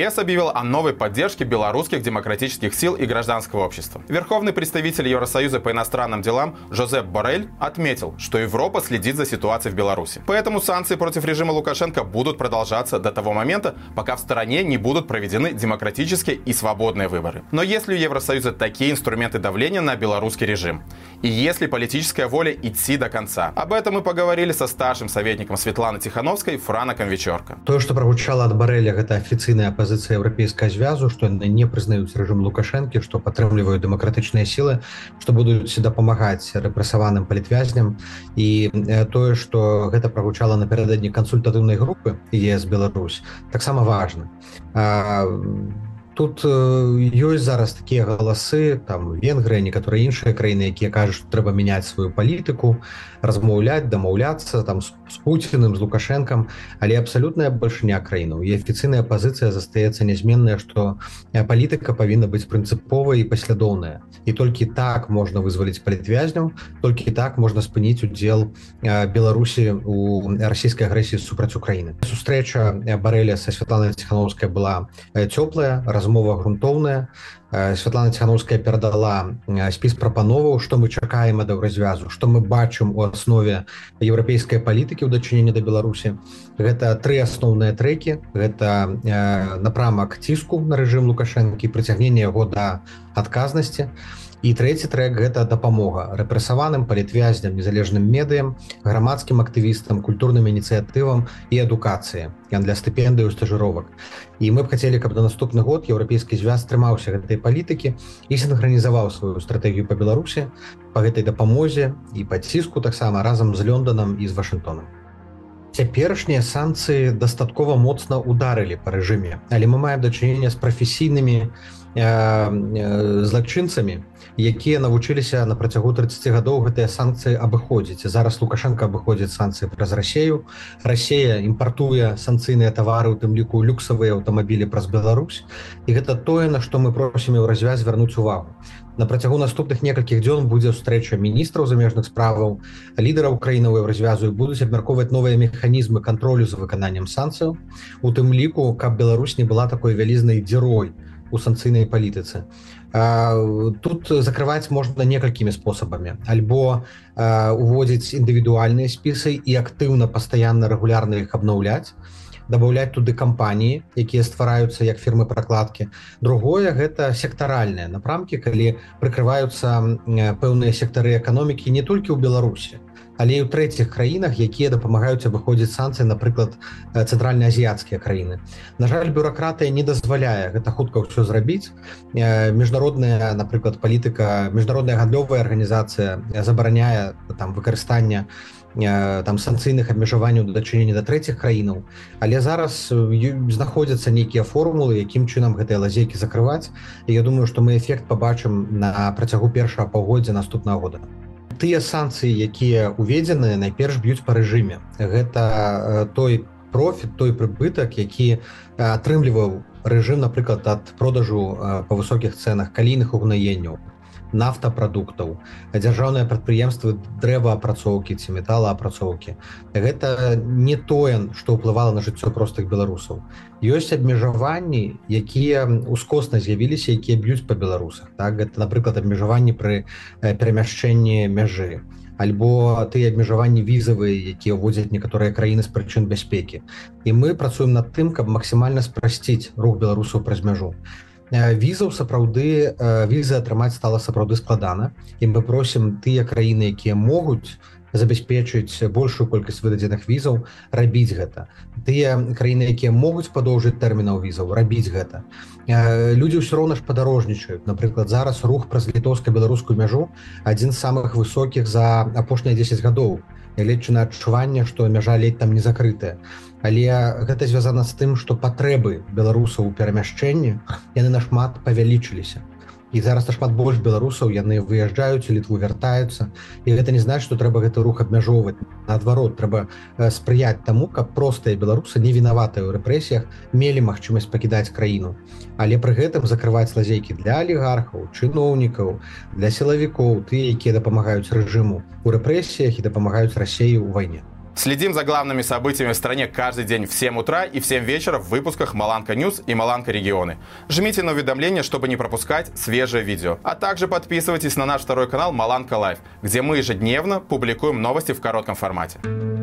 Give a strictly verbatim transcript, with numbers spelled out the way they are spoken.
ЕС объявил о новой поддержке белорусских демократических сил и гражданского общества. Верховный представитель Евросоюза по иностранным делам Жозеп Боррель отметил, что Европа следит за ситуацией в Беларуси. Поэтому санкции против режима Лукашенко будут продолжаться до того момента, пока в стране не будут проведены демократические и свободные выборы. Но есть ли у Евросоюза такие инструменты давления на белорусский режим? И есть ли политическая воля идти до конца? Об этом мы поговорили со старшим советником Светланы Тихановской Франаком Вечорка. То, что прогучало от Борреля, это официальная позиция Европейского Звязу, что они не признают режим Лукашенко, что поддерживают демократичные силы, что будут всегда помогать репрессованным политвязням. И то, что это прогучало напередодні консультативной группы ЕС Беларусь, так само важно. Тут ёсць зараз такія галасы, там Венгрыя, некаторыя іншыя краіны, якія кажуць, што трэба мяняць сваю палітыку, размаўляць, дамаўляцца там з Пуціным, з Лукашэнкам, але абсалютная бальшыня краінаў і афіцыйная пазіцыя застаецца нязменная, што палітыка павінна быць прынцыповая і паслядоўная. І толькі так можна вызваліць палітвязняў, толькі так можна спыніць удзел Беларусі у расійскай агрэсіі супраць Украіны. Сустрэча Борреля са Светланай Тихановскай была цёплая, размова грунтоўная. Светлана Тихановская перадала спіс прапановаў, што мы чакаем ад Еўразвязу, што мы бачым у аснове еўрапейскай палітыкі ў дачыненні да Беларусі. Гэта тры асноўныя трэкі. Гэта напрамак ціску на рэжым Лукашэнкі, прыцягненне яго да адказнасці. І трэці трэк – гэта дапамога рэпрэсаваным, палітвязням, незалежным медыям, грамадскім актывістам, культурным ініцыятывам і адукацыі для стыпендыяў, стажыровак. І мы б хацелі, каб на наступны год Еўрапейскі звяз трымаўся гэтай палітыкі і сінхранізаваў сваю стратэгію па Беларусі, па гэтай дапамозе і па ціску таксама разам з Лёнданам і з Вашынгтонам. Цяперашнія санкцыі дастаткова моцна ударылі па рэжыме, але мы маем дачыненне з прафесійнымі злачынцамі, якія навучыліся на працягу трыццаці гадоў гэтыя санкцыі абыходзіць. Зараз Лукашенко абыходзіць санкцыі праз Расею. Расея імпартуе санкцыйныя тавары, у тым ліку люксавыя аўтамабілі праз Беларусь. І гэта тое, на што мы просім Еўразвяз звярнуць увагу. На працягу наступных некалькіх дзён будзе сустрэча міністраў замежных справаў, лідараў краінаў Еўразвязу і будуць абмяркоўваць новыя механізмы кантролю за выкананнем санкцыяў, у тым ліку, каб Беларусь не была такой вялізнай дзірой у санкцыйнай палітыцы. Тут закрываць можна некалькімі спосабамі. Альбо уводзіць індывідуальныя спісы і актыўна, пастаянна, рэгулярна іх абнаўляць, дабаўляць туды кампаніі, якія ствараюцца як фірмы-пракладкі. Другое – гэта сектаральныя напрамкі, калі прыкрываюцца пэўныя сектары эканомікі не толькі ў Беларусі, але і ў трэціх краінах, якія дапамагаюць абыходзіць санкцыі, напрыклад, цэнтральна-азіяцкія краіны. На жаль, бюракратыя не дазваляе гэта хутка ўсё зрабіць. Міжнародная, напрыклад, палітыка, міжнародная гандлёвая арганізацыя забараняе там выкарыстанне там санкцыйных абмежаванняў да дачынення да трэціх краінаў, але зараз знаходзяцца нейкія формулы, якім чынам гэтыя лазейкі закрываць. І я думаю, што мы эфект пабачым на працягу першага паўгоддзя наступнага года. Тыя санкцыі, якія уведзены, найперш б'юць па рэжыме. Гэта той профіт, той прыбытак, які атрымліваў рэжым, напрыклад, ад продажу па высокіх цэнах калійных угнаенняў, нафтапрадуктаў, дзяржаўныя прадпрыемствы дрэваапрацоўкі ці металаапрацоўкі. Гэта не тое, што ўплывала на жыццё простых беларусаў. Ёсць абмежаванні, якія ускосна з'явіліся, якія б'юць па беларусах. Так? Гэта, напрыклад, абмежаванні пры перамяшчэнні мяжы, альбо тыя абмежаванні візавыя, якія ўводзяць некаторыя краіны з прычын бяспекі. І мы працуем над тым, каб максімальна спрасціць рух беларусаў праз мяжу. Візаў сапраўды, візы атрымаць стала сапраўды складана, і мы просім тыя краіны, якія могуць забяспечыць большую колькасць выдадзеных візаў, рабіць гэта. Тыя краіны, якія могуць падоўжыць тэрмінаў візаў, рабіць гэта. Людзі ўсё роўна ж падарожнічаюць. Напрыклад, зараз рух праз літоўска-беларускую мяжу адзін з самых высокіх за апошнія дзесяць гадоў. Нягледзячы на адчуванне, што мяжа ледзь там не закрытая. Але гэта звязана з тым, што патрэбы беларусаў у перамяшчэнні яны нашмат павялічыліся. І зараз нашмат больш беларусаў, яны выязджаюць, у Літву вяртаюцца. І гэта не значыць, што трэба гэты рух абмяжоўваць. Наадварот, трэба спрыяць таму, каб простыя беларусы, не вінаватыя ў рэпрэсіях, мелі магчымасць пакідаць краіну. Але пры гэтым закрываць лазейкі для алігархаў, чыноўнікаў, для сілавікоў, тыя, якія дапамагаюць рэжыму ў рэпрэсіях і дапамагаюць Расеі ў вайне. Следим за главными событиями в стране каждый день в семь утра и в семь вечера в выпусках Маланка Ньюс и Маланка Регионы. Жмите на уведомления, чтобы не пропускать свежее видео. А также подписывайтесь на наш второй канал Маланка Лайв, где мы ежедневно публикуем новости в коротком формате.